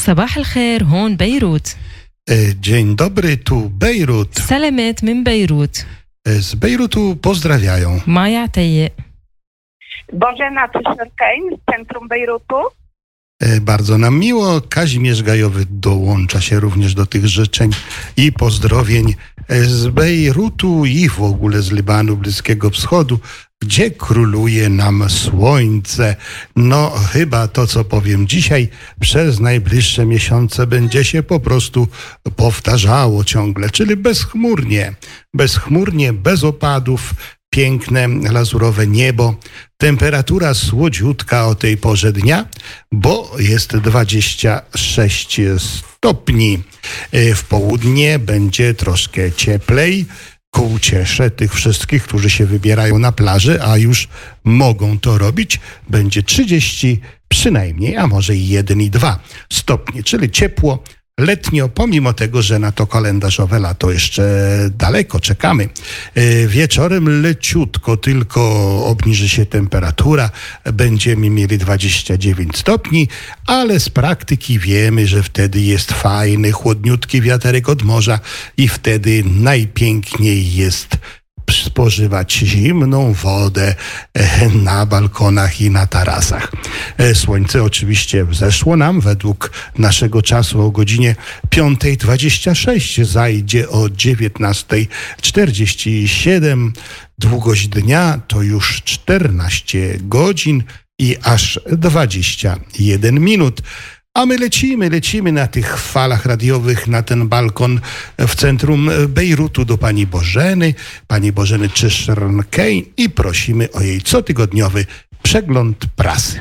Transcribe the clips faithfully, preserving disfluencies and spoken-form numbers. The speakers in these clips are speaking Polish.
صباح الخير، هون بيروت. Dzień dobry, tu Bejrut. سلامات من بيروت. Z Bejrutu pozdrawiają. Maja Tejje. Bożena Tyszner-Kane z centrum Bejrutu. Bardzo nam miło. Kazimierz Gajowy dołącza się również do tych życzeń i pozdrowień z Bejrutu i w ogóle z Libanu, Bliskiego Wschodu, gdzie króluje nam słońce. No chyba to, co powiem dzisiaj, przez najbliższe miesiące będzie się po prostu powtarzało ciągle, czyli bezchmurnie, bezchmurnie, bez opadów, piękne, lazurowe niebo, temperatura słodziutka o tej porze dnia, bo jest dwadzieścia sześć stopni. W południe będzie troszkę cieplej, ku uciesze tych wszystkich, którzy się wybierają na plaży, a już mogą to robić, będzie trzydzieści przynajmniej, a może i jeden i dwa stopnie, czyli ciepło, letnio, pomimo tego, że na to kalendarzowe lato jeszcze daleko czekamy. Wieczorem leciutko tylko obniży się temperatura, będziemy mieli dwadzieścia dziewięć stopni, ale z praktyki wiemy, że wtedy jest fajny, chłodniutki wiaterek od morza i wtedy najpiękniej jest spożywać zimną wodę na balkonach i na tarasach. Słońce oczywiście wzeszło nam według naszego czasu o godzinie piąta dwadzieścia sześć, zajdzie o dziewiętnasta czterdzieści siedem. Długość dnia to już czternaście godzin i aż dwadzieścia jeden minut. A my lecimy, lecimy na tych falach radiowych, na ten balkon w centrum Bejrutu do pani Bożeny, pani Bożeny Tyszner-Kane i prosimy o jej cotygodniowy przegląd prasy.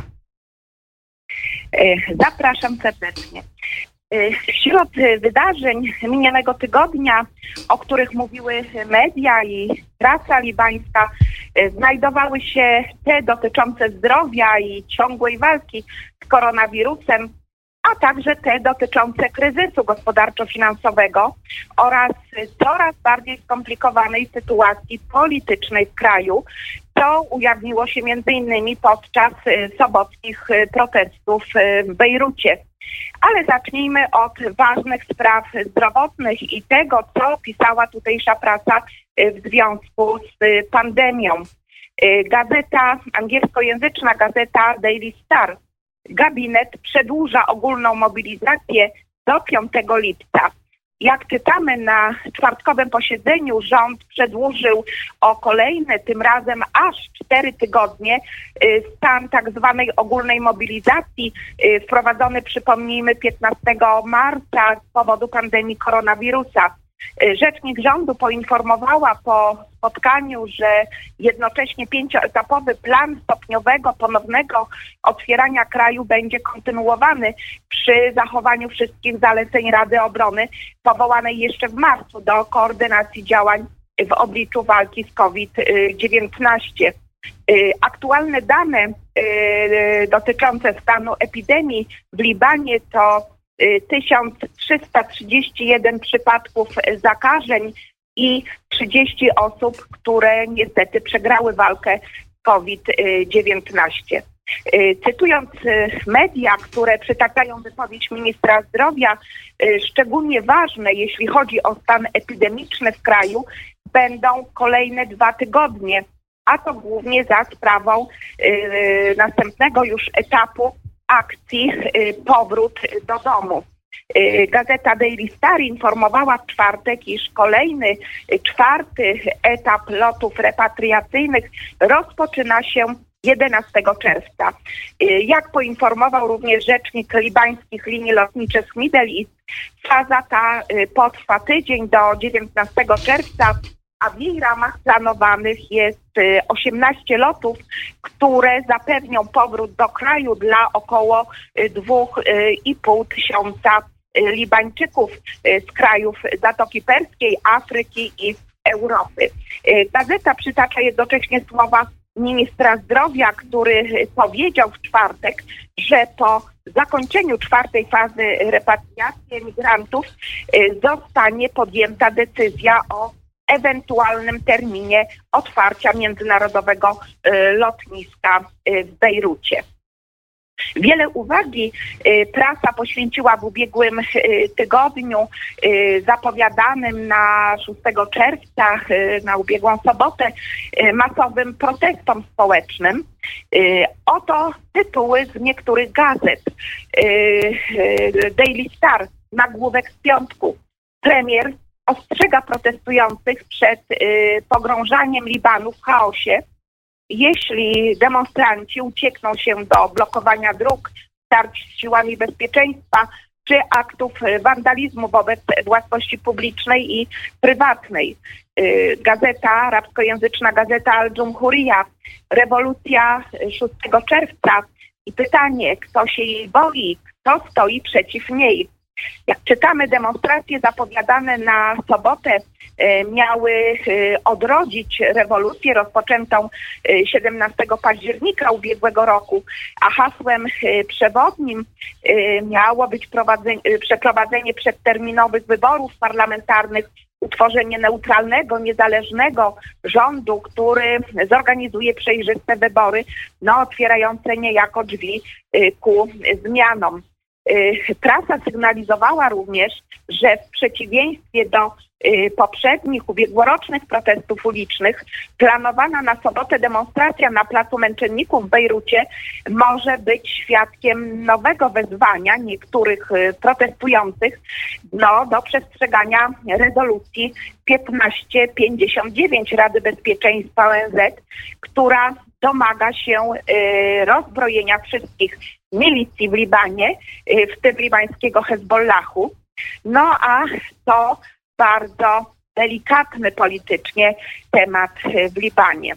Zapraszam serdecznie. Wśród wydarzeń minionego tygodnia, o których mówiły media i prasa libańska, znajdowały się te dotyczące zdrowia i ciągłej walki z koronawirusem, a także te dotyczące kryzysu gospodarczo-finansowego oraz coraz bardziej skomplikowanej sytuacji politycznej w kraju, co ujawniło się między innymi podczas sobockich protestów w Bejrucie. Ale zacznijmy od ważnych spraw zdrowotnych i tego, co pisała tutejsza prasa w związku z pandemią. Gazeta, angielskojęzyczna gazeta Daily Star. Gabinet przedłuża ogólną mobilizację do piątego lipca. Jak czytamy na czwartkowym posiedzeniu, rząd przedłużył o kolejne, tym razem aż cztery tygodnie, stan tak zwanej ogólnej mobilizacji wprowadzony, przypomnijmy, piętnastego marca z powodu pandemii koronawirusa. Rzecznik rządu poinformowała po spotkaniu, że jednocześnie pięcioetapowy plan stopniowego, ponownego otwierania kraju będzie kontynuowany przy zachowaniu wszystkich zaleceń Rady Obrony powołanej jeszcze w marcu do koordynacji działań w obliczu walki z COVID dziewiętnaście. Aktualne dane dotyczące stanu epidemii w Libanie to tysiąc trzysta trzydzieści jeden przypadków zakażeń i trzydzieści osób, które niestety przegrały walkę z COVID dziewiętnaście. Cytując media, które przytaczają wypowiedź ministra zdrowia, szczególnie ważne, jeśli chodzi o stan epidemiczny w kraju, będą kolejne dwa tygodnie, a to głównie za sprawą następnego już etapu akcji Powrót do domu. Gazeta Daily Star informowała w czwartek, iż kolejny, czwarty etap lotów repatriacyjnych rozpoczyna się jedenastego czerwca. Jak poinformował również rzecznik libańskich linii lotniczych Middle East, faza ta potrwa tydzień do dziewiętnastego czerwca, a w jej ramach planowanych jest osiemnaście lotów, które zapewnią powrót do kraju dla około dwóch i pół tysiąca Libańczyków z krajów Zatoki Perskiej, Afryki i Europy. Gazeta przytacza jednocześnie słowa ministra zdrowia, który powiedział w czwartek, że po zakończeniu czwartej fazy repatriacji emigrantów zostanie podjęta decyzja o ewentualnym terminie otwarcia międzynarodowego lotniska w Bejrucie. Wiele uwagi prasa poświęciła w ubiegłym tygodniu zapowiadanym na szóstego czerwca, na ubiegłą sobotę, masowym protestom społecznym. Oto tytuły z niektórych gazet. Daily Star, nagłówek z piątku. Premier ostrzega protestujących przed pogrążaniem Libanu w chaosie. Jeśli demonstranci uciekną się do blokowania dróg, starć z siłami bezpieczeństwa czy aktów wandalizmu wobec własności publicznej i prywatnej. Gazeta, arabskojęzyczna gazeta Al-Dżumhurija, rewolucja szóstego czerwca i pytanie, kto się jej boi, kto stoi przeciw niej. Jak czytamy, demonstracje zapowiadane na sobotę miały odrodzić rewolucję rozpoczętą siedemnastego października ubiegłego roku, a hasłem przewodnim miało być przeprowadzenie przedterminowych wyborów parlamentarnych, utworzenie neutralnego, niezależnego rządu, który zorganizuje przejrzyste wybory, no, otwierające niejako drzwi ku zmianom. Prasa sygnalizowała również, że w przeciwieństwie do poprzednich, ubiegłorocznych protestów ulicznych, planowana na sobotę demonstracja na Placu Męczenników w Bejrucie może być świadkiem nowego wezwania niektórych protestujących no, do przestrzegania rezolucji piętnaście pięćdziesiąt dziewięć Rady Bezpieczeństwa O N Z, która domaga się rozbrojenia wszystkich milicji w Libanie, w tym libańskiego Hezbollahu. No a to bardzo delikatny politycznie temat w Libanie.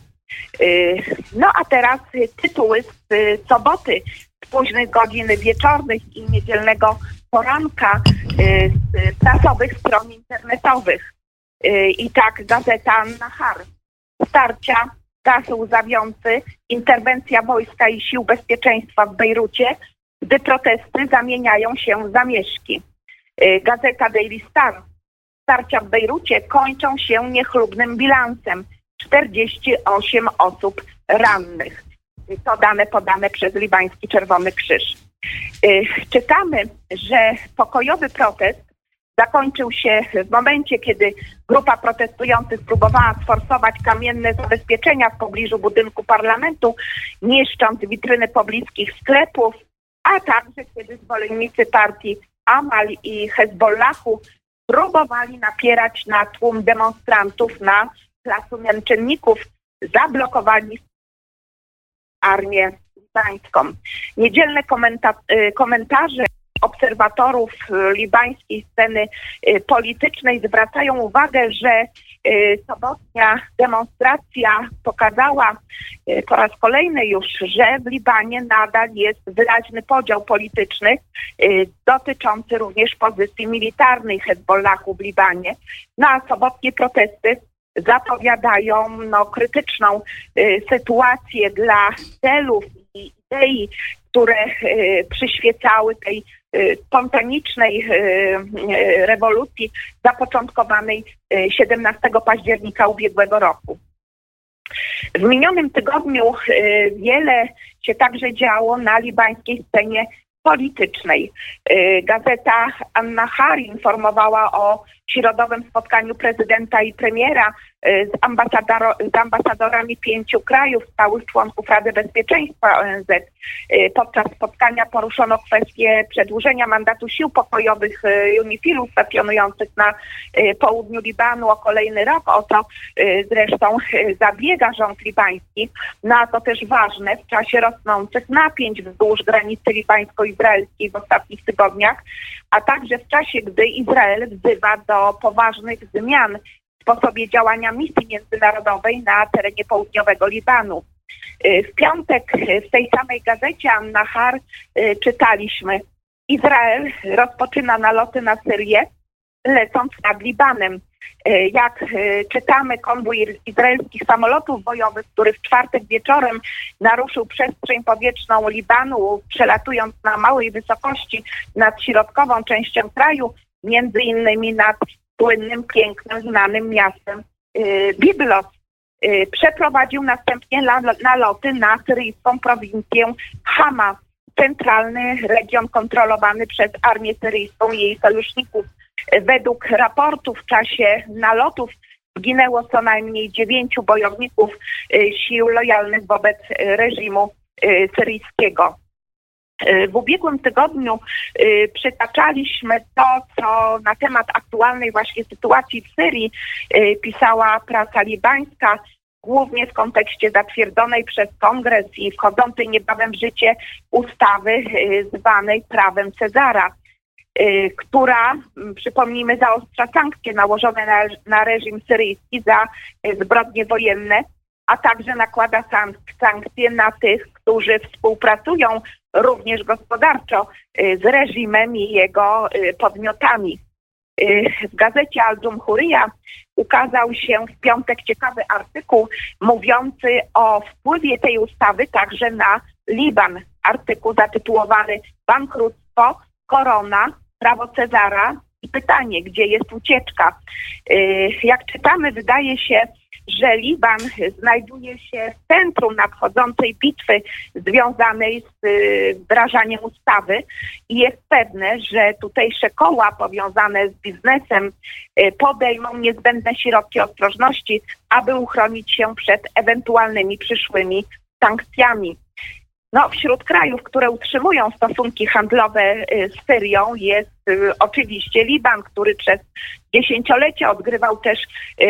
No a teraz tytuły z soboty, z późnych godzin wieczornych i niedzielnego poranka z prasowych stron internetowych. I tak gazeta Nahar. Starcia, gaz łzawiący, interwencja wojska i sił bezpieczeństwa w Bejrucie, gdy protesty zamieniają się w zamieszki. Gazeta Daily Star. Starcia w Bejrucie kończą się niechlubnym bilansem. czterdzieści osiem osób rannych. To dane podane przez libański Czerwony Krzyż. Czytamy, że pokojowy protest zakończył się w momencie, kiedy grupa protestujących próbowała sforsować kamienne zabezpieczenia w pobliżu budynku parlamentu, niszcząc witryny pobliskich sklepów, a także kiedy zwolennicy partii Amal i Hezbollahu próbowali napierać na tłum demonstrantów na Placu Męczenników, zablokowali armię libańską. Niedzielne komenta- komentarze obserwatorów libańskiej sceny politycznej zwracają uwagę, że sobotnia demonstracja pokazała po raz kolejny już, że w Libanie nadal jest wyraźny podział polityczny dotyczący również pozycji militarnej Hezbollahu w Libanie. No a sobotnie protesty zapowiadają no, krytyczną sytuację dla celów i idei, które przyświecały tej spontanicznej rewolucji zapoczątkowanej siedemnastego października ubiegłego roku. W minionym tygodniu wiele się także działo na libańskiej scenie politycznej. Gazeta An-Nahar informowała o środowym spotkaniu prezydenta i premiera z, z ambasadorami pięciu krajów, stałych członków Rady Bezpieczeństwa O N Z. Podczas spotkania poruszono kwestię przedłużenia mandatu sił pokojowych UNIFIL-u stacjonujących na południu Libanu o kolejny rok. O to zresztą zabiega rząd libański. No a to też ważne w czasie rosnących napięć wzdłuż granicy libańsko-izraelskiej w ostatnich tygodniach, a także w czasie, gdy Izrael wzywa do poważnych zmian w sposobie działania misji międzynarodowej na terenie południowego Libanu. W piątek w tej samej gazecie An-Nahar czytaliśmy: Izrael rozpoczyna naloty na Syrię, lecąc nad Libanem. Jak czytamy, konwój izraelskich samolotów bojowych, który w czwartek wieczorem naruszył przestrzeń powietrzną Libanu, przelatując na małej wysokości nad środkową częścią kraju, między innymi nad słynnym, pięknym, znanym miastem Biblos. Przeprowadził następnie naloty na syryjską prowincję Hama. centralny region kontrolowany przez armię syryjską i jej sojuszników. Według raportu w czasie nalotów zginęło co najmniej dziewięciu bojowników sił lojalnych wobec reżimu syryjskiego. W ubiegłym tygodniu przytaczaliśmy to, co na temat aktualnej właśnie sytuacji w Syrii pisała prasa libańska, głównie w kontekście zatwierdzonej przez Kongres i wchodzącej niebawem w życie ustawy zwanej prawem Cezara, która, przypomnijmy, zaostrza sankcje nałożone na, na reżim syryjski za zbrodnie wojenne, a także nakłada sankcje na tych, którzy współpracują również gospodarczo z reżimem i jego podmiotami. W gazecie Al-Jumhuriyya ukazał się w piątek ciekawy artykuł mówiący o wpływie tej ustawy także na Liban. Artykuł zatytułowany Bankructwo, korona, prawo Cezara i pytanie, gdzie jest ucieczka. Jak czytamy, wydaje się, że Liban znajduje się w centrum nadchodzącej bitwy związanej z wdrażaniem ustawy i jest pewne, że tutejsze koła powiązane z biznesem podejmą niezbędne środki ostrożności, aby uchronić się przed ewentualnymi przyszłymi sankcjami. No, wśród krajów, które utrzymują stosunki handlowe z Syrią, jest oczywiście Liban, który przez dziesięciolecia odgrywał też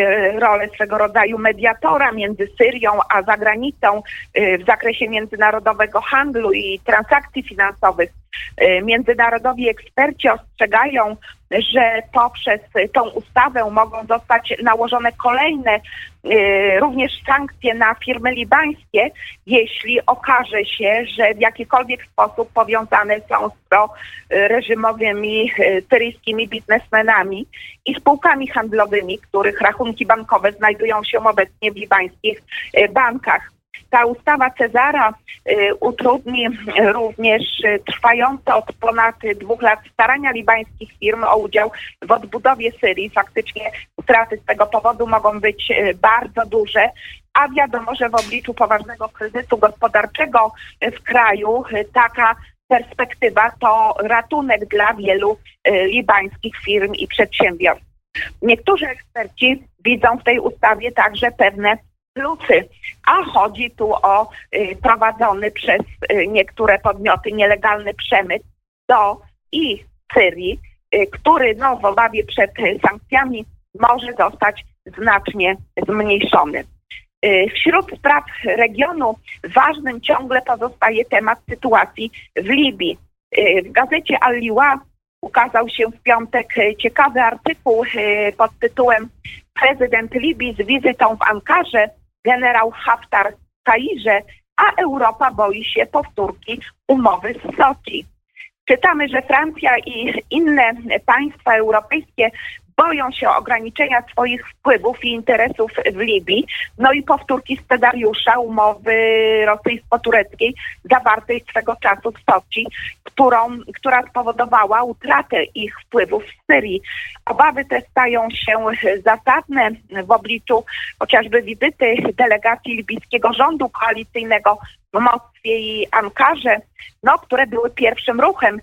rolę swego rodzaju mediatora między Syrią a zagranicą w zakresie międzynarodowego handlu i transakcji finansowych. Międzynarodowi eksperci ostrzegają, że poprzez tą ustawę mogą zostać nałożone kolejne również sankcje na firmy libańskie, jeśli okaże się, że w jakikolwiek sposób powiązane są z proreżimowymi syryjskimi biznesmenami i spółkami handlowymi, których rachunki bankowe znajdują się obecnie w libańskich bankach. Ta ustawa Cezara y, utrudni również y, trwające od ponad dwóch lat starania libańskich firm o udział w odbudowie Syrii. Faktycznie straty z tego powodu mogą być y, bardzo duże, a wiadomo, że w obliczu poważnego kryzysu gospodarczego w kraju y, taka perspektywa to ratunek dla wielu y, libańskich firm i przedsiębiorstw. Niektórzy eksperci widzą w tej ustawie także pewne plusy, a chodzi tu o y, prowadzony przez y, niektóre podmioty nielegalny przemyt do i Syrii, y, który no, w obawie przed y, sankcjami może zostać znacznie zmniejszony. Y, wśród spraw regionu ważnym ciągle pozostaje temat sytuacji w Libii. Y, w gazecie Al-Liwa ukazał się w piątek y, ciekawy artykuł y, pod tytułem Prezydent Libii z wizytą w Ankarze, generał Haftar w Kairze, a Europa boi się powtórki umowy z Soczi. Czytamy, że Francja i inne państwa europejskie boją się ograniczenia swoich wpływów i interesów w Libii, no i powtórki scenariusza umowy rosyjsko-tureckiej zawartej swego czasu w Soczi, którą, która spowodowała utratę ich wpływów w Syrii. Obawy te stają się zasadne w obliczu chociażby wizyty delegacji libijskiego rządu koalicyjnego w Moskwie i Ankarze, no, które były pierwszym ruchem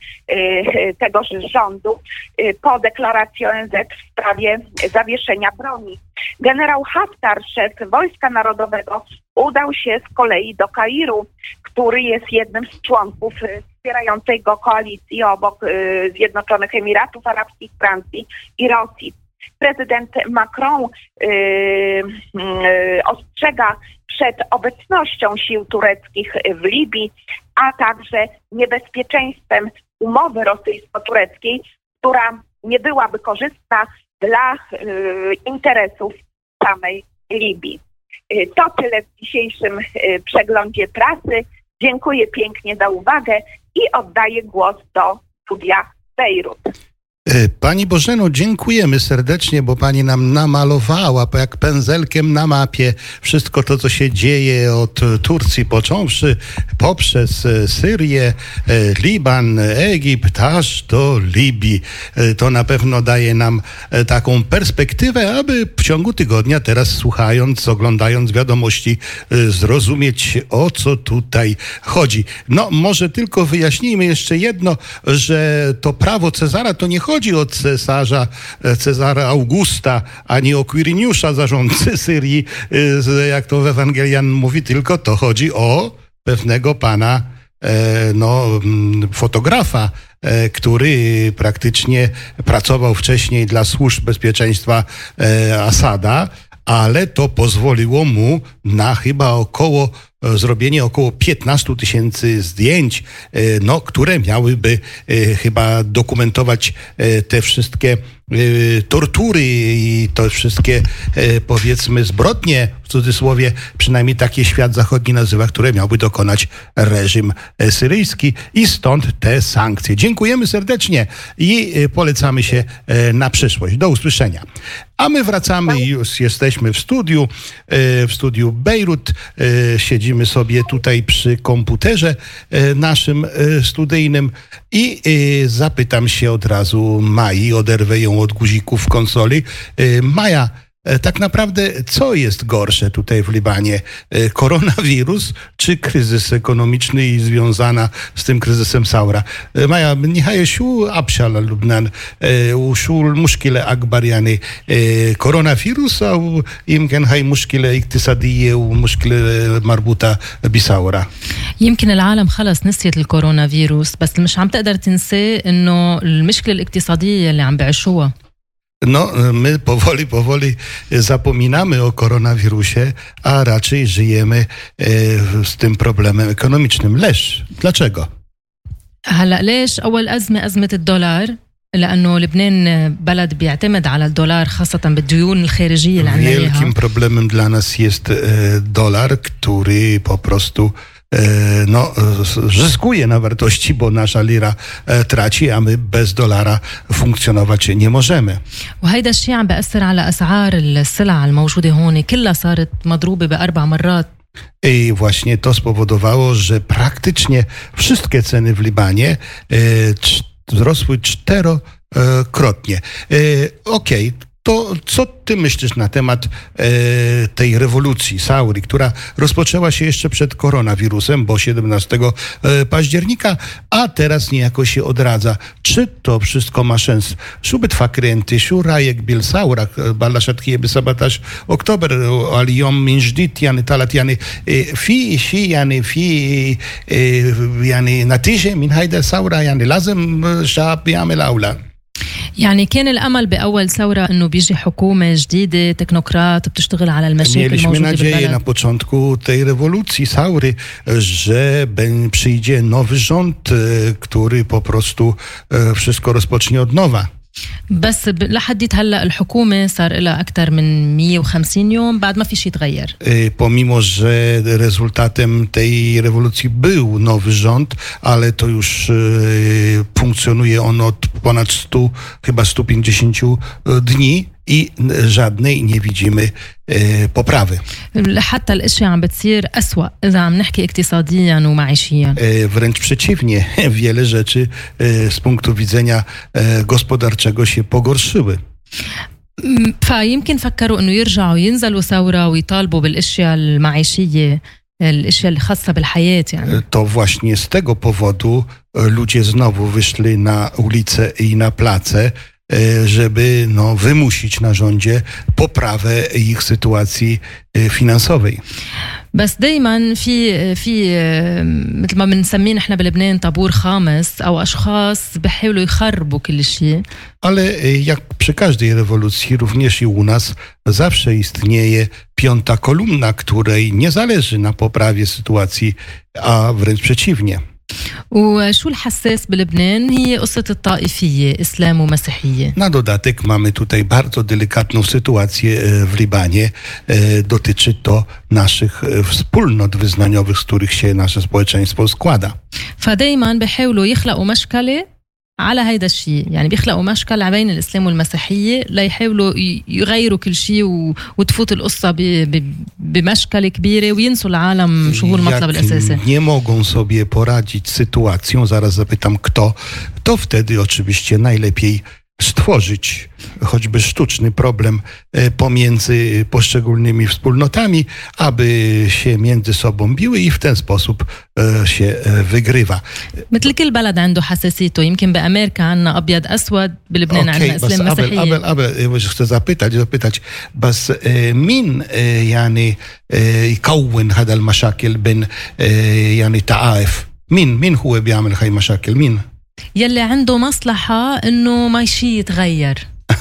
y, tegoż rządu y, po deklaracji O N Z w sprawie zawieszenia broni. Generał Haftar, szef Wojska Narodowego, udał się z kolei do Kairu, który jest jednym z członków y, wspierającej go koalicji obok y, Zjednoczonych Emiratów Arabskich, Francji i Rosji. Prezydent Macron y, y, ostrzega przed obecnością sił tureckich w Libii, a także niebezpieczeństwem umowy rosyjsko-tureckiej, która nie byłaby korzystna dla y, interesów samej Libii. Y, to tyle w dzisiejszym y, przeglądzie prasy. Dziękuję pięknie za uwagę i oddaję głos do studia Bejrut. Pani Bożeno, dziękujemy serdecznie, bo Pani nam namalowała jak pędzelkiem na mapie wszystko to, co się dzieje od Turcji począwszy, poprzez Syrię, Liban, Egipt, aż do Libii. To na pewno daje nam taką perspektywę, aby w ciągu tygodnia teraz słuchając, oglądając wiadomości, zrozumieć, o co tutaj chodzi. No, może tylko wyjaśnijmy jeszcze jedno, że to prawo Cezara to nie chodzi Chodzi o cesarza Cezara Augusta, a nie o Quiriniusza, zarządcy Syrii, jak to w Ewangelian mówi, tylko to chodzi o pewnego pana, no, fotografa, który praktycznie pracował wcześniej dla służb bezpieczeństwa Asada, ale to pozwoliło mu na chyba około zrobienie około piętnaście tysięcy zdjęć, no, które miałyby chyba dokumentować te wszystkie tortury i te wszystkie, powiedzmy, zbrodnie, w cudzysłowie, przynajmniej takie świat zachodni nazywa, które miałby dokonać reżim syryjski i stąd te sankcje. Dziękujemy serdecznie i polecamy się na przyszłość. Do usłyszenia. A my wracamy i już jesteśmy w studiu, w studiu Bejrut. Siedzimy sobie tutaj przy komputerze naszym studyjnym i zapytam się od razu Mai, oderwę ją od guzików konsoli. Maja, tak naprawdę co jest gorsze tutaj w Libanie? Koronawirus czy kryzys ekonomiczny i związana z tym kryzysem Saura? Maja, nihaye شو أبشع للبنان وشو المشكلة أكبر يعني كورونا أو يمكن هاي مشكلة اقتصادية ومشكلة مربوطة بثورة؟ يمكن العالم خلص نسيت الكورونا فيروس، بس اللي مش عم تقدر تنساه انه المشكلة الاقتصادية اللي عم بعيشوها. No, my powoli, powoli zapominamy o koronawirusie, a raczej żyjemy e, z tym problemem ekonomicznym. Lesz, dlaczego? هلا ليش؟ أول أزمة أزمة الدولار، لأنه لبنان بلد بيعتمد على الدولار خاصة بالديون الخارجية اللي عندنا إياها. Wielkim problemem dla nas jest e, dolar, który po prostu no, zyskuje na wartości, bo nasza lira traci, a my bez dolara funkcjonować nie możemy. وهيدا الشيء عم بأثر على أسعار السلع الموجودة هون كلها صارت مضروبة بأربع مرات. I właśnie to spowodowało, że praktycznie wszystkie ceny w Libanie e, wzrosły czterokrotnie. E, Okej, okay. To co ty myślisz na temat e, tej rewolucji Sauri, która rozpoczęła się jeszcze przed koronawirusem, bo siedemnastego października, a teraz niejako się odradza. Czy to wszystko ma sens? Szu بتفكري انت شو رايك بالثورة بلشت هي ب سبعة عشر اكتوبر اليوم من جديد يعني طلعت يعني في شيء يعني في يعني نتيجة من هيدا الثورة يعني لازم الشعب يعمل أو لا؟ يعني كان الأمل بأول ثورة أنه بيجي حكومة جديدة تكنوقراط بتشتغل على المشاكل الموجودة بالبلد. Mieliśmy nadzieję na początku tej rewolucji Saury, że przyjdzie nowy rząd, który po prostu wszystko rozpocznie od nowa. بس لحد هلا الحكومة صار لها أكثر من مية وخمسين يوم بعد ما في شيء تغير. Pomimo, że rezultatem tej rewolucji był nowy rząd, ale to już funkcjonuje on od ponad stu, chyba stu pięćdziesięciu dni i żadnej nie widzimy e, poprawy. حتى الأشياء عم بتصير أسوأ إذا عم نحكي اقتصاديا ومعيشيا. E, wręcz przeciwnie, wiele rzeczy e, z punktu widzenia e, gospodarczego się pogorszyły. فيمكن فكروا إنه يرجعوا ينزلوا ثورة ويطالبوا بالأشياء المعيشية الأشياء الخاصة بالحياة يعني. To właśnie z tego powodu ludzie znowu wyszli na ulice i na place, żeby no, wymusić na rządzie poprawę ich sytuacji finansowej. بس دايما في في مثل ما بنسميه نحن بلبنان طابور خامس او اشخاص بيحاولوا يخربوا كل شيء. Ale jak przy każdej rewolucji, również i u nas zawsze istnieje piąta kolumna, której nie zależy na poprawie sytuacji, a wręcz przeciwnie. وشو الحساس بلبنان هي قصة الطائفية إسلام ومسيحية. Na dodatek mamy tutaj bardzo delikatną sytuację w Libanie. Dotyczy to naszych wspólnot wyznaniowych, z których się nasze społeczeństwo składa. فدايما بيحاولوا يخلقوا مشكلة على هيدا الشيء، يعني بيخلقوا مشكل بين الإسلام والمسيحية ليحاولوا يغيروا كل شيء وتفوت القصة بمشكلة كبيرة وينسوا العالم شو هو المطلب الأساسي. Nie mogą sobie poradzić z sytuacją, zaraz zapytam kto, to wtedy oczywiście najlepiej stworzyć choćby sztuczny problem pomiędzy poszczególnymi wspólnotami, aby się między sobą biły i w ten sposób się wygrywa. مثل كل بلد عنده حساسيته، يمكن بأمريكا عنا أبيض أسود، بلبنان عنا إسلام مسيحية. قبل قبل chcę zapytać zapytać بس مين يعني يكون هذا المشاكل بين يعني تعايف؟ مين مين هو بيعمل هاي المشاكل؟ مين؟ يلي عنده مصلحة إنه ما شيء يتغير.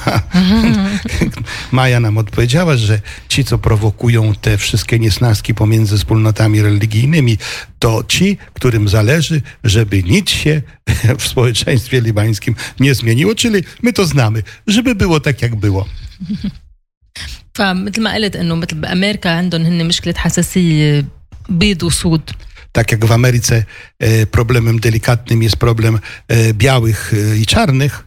Maja nam odpowiedziała, że ci, co prowokują te wszystkie niesnaski pomiędzy wspólnotami religijnymi, to ci, którym zależy, żeby nic się w społeczeństwie libańskim nie zmieniło, czyli my to znamy, żeby było tak, jak było. فمثل ما قلت إنه مثل بأمريكا عندهم هن مشكلة حساسية بيض وسود. Tak jak w Ameryce e, problemem delikatnym jest problem e, białych e, i czarnych,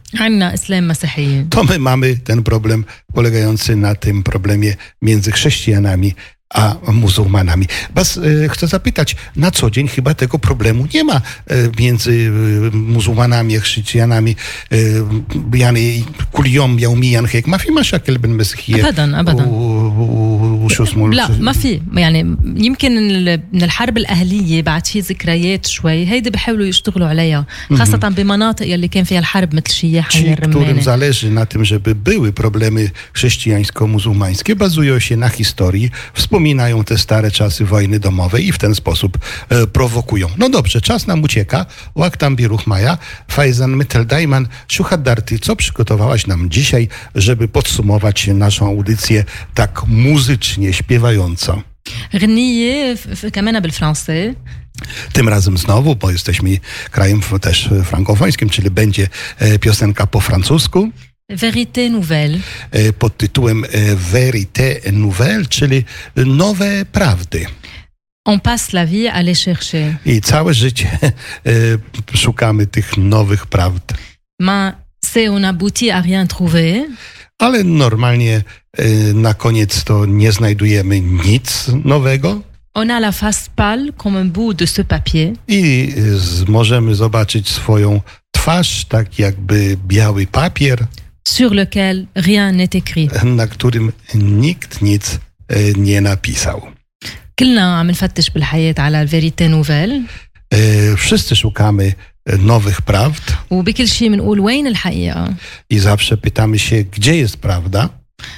to my mamy ten problem polegający na tym problemie między chrześcijanami a muzułmanami. Bas, e, chcę zapytać, na co dzień chyba tego problemu nie ma e, między e, muzułmanami a chrześcijanami. يعني كل يوم يوميا هيك ما في مشاكل بين المسيحية أبدا أبدا وشو اسمه لا ما في، يعني يمكن من الحرب الأهلية بعد في ذكريات شوي هيدي بيحاولوا يشتغلوا عليها، خاصة بمناطق يلي كان فيها الحرب مثل شياح الرمانة. Którym zależy na tym, żeby były problemy chrześcijańsko-muzułmańskie, bazują się na historii, wspominają te stare czasy wojny domowej i w ten sposób e, prowokują. No dobrze, czas nam ucieka. Łaktam biruch Maja. Fajzan Mytel-Dajman, Szuhadarty, co przygotowałaś nam dzisiaj, żeby podsumować naszą audycję tak muzycznie, śpiewająco? غنية كمان بالفرنسي. Tym razem znowu, bo jesteśmy krajem też frankofońskim, czyli będzie piosenka po francusku. Vérité nouvelle. Pod tytułem Vérité nouvelle, czyli nowe prawdy. On passe la vie à les chercher. I całe życie szukamy tych nowych prawd. Ma c'est on aboutit à rien trouver. Ale normalnie na koniec to nie znajdujemy nic nowego. On a la face pâle comme un bout de ce papier. I z, możemy zobaczyć swoją twarz, tak jakby biały papier, sur lequel rien n'est écrit. Na którym nikt nic nie napisał. كلنا عم نفتش بالحياة على الفيريتي نوفيل. Wszyscy szukamy nowych prawd. وبكل شيء بنقول وين الحقيقة. I zawsze pytamy się, gdzie jest prawda.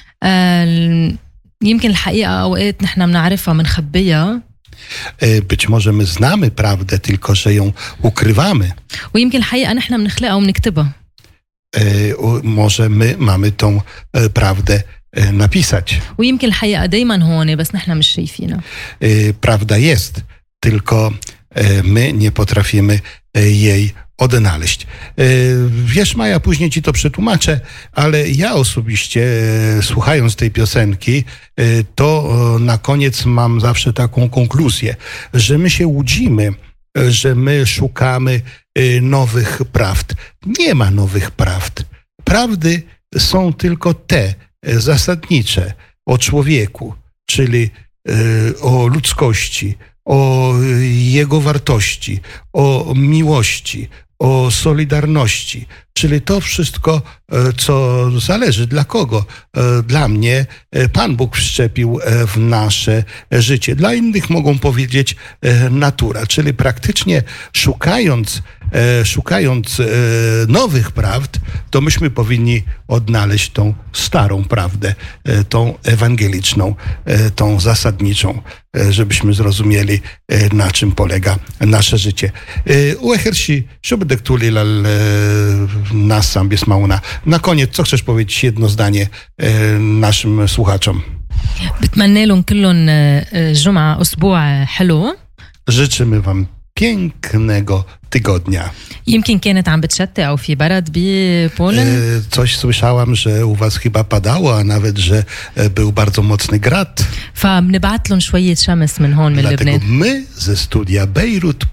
يمكن الحقيقة أوقات نحن بنعرفها بنخبيها. Być może my znamy prawdę, tylko że ją ukrywamy. ويمكن الحقيقة نحن بنخلقها وبنكتبها. Może my mamy tą prawdę napisać. ويمكن الحقيقة دايما هون بس نحن مش شايفينها. Prawda jest, tylko my nie potrafimy jej odnaleźć. Wiesz, Maja, później ci to przetłumaczę, ale ja osobiście, słuchając tej piosenki, to na koniec mam zawsze taką konkluzję, że my się łudzimy, że my szukamy nowych prawd. Nie ma nowych prawd. Prawdy są tylko te zasadnicze o człowieku, czyli o ludzkości, o jego wartości, o miłości, o solidarności, czyli to wszystko, co zależy dla kogo. Dla mnie Pan Bóg wszczepił w nasze życie. Dla innych mogą powiedzieć natura, czyli praktycznie szukając, szukając nowych prawd, to myśmy powinni odnaleźć tą starą prawdę, tą ewangeliczną, tą zasadniczą, żebyśmy zrozumieli, na czym polega nasze życie. Uehersi, żeby tuli nas sam biesmauna. Na koniec, co chcesz powiedzieć jedno zdanie naszym słuchaczom? بتمنى لهم كلهم جمعة أسبوع حلو. Życzymy wam pięknego tygodnia. يمكن كانت عم بتشتي أو في برد ببولن. Coś słyszałam, że u was chyba padało, a nawet, że był bardzo mocny grad. فبنبعت لهم شوية شمس من هون من لبنان. Dlatego my ze studia Bejrut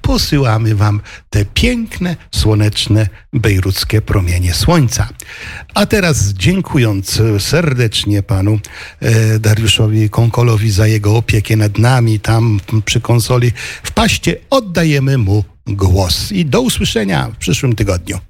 posyłamy wam te piękne, słoneczne, bejruckie promienie słońca. A teraz dziękując serdecznie panu e, Dariuszowi Konkolowi za jego opiekę nad nami tam przy konsoli w Paście, oddajemy mu głos. I do usłyszenia w przyszłym tygodniu.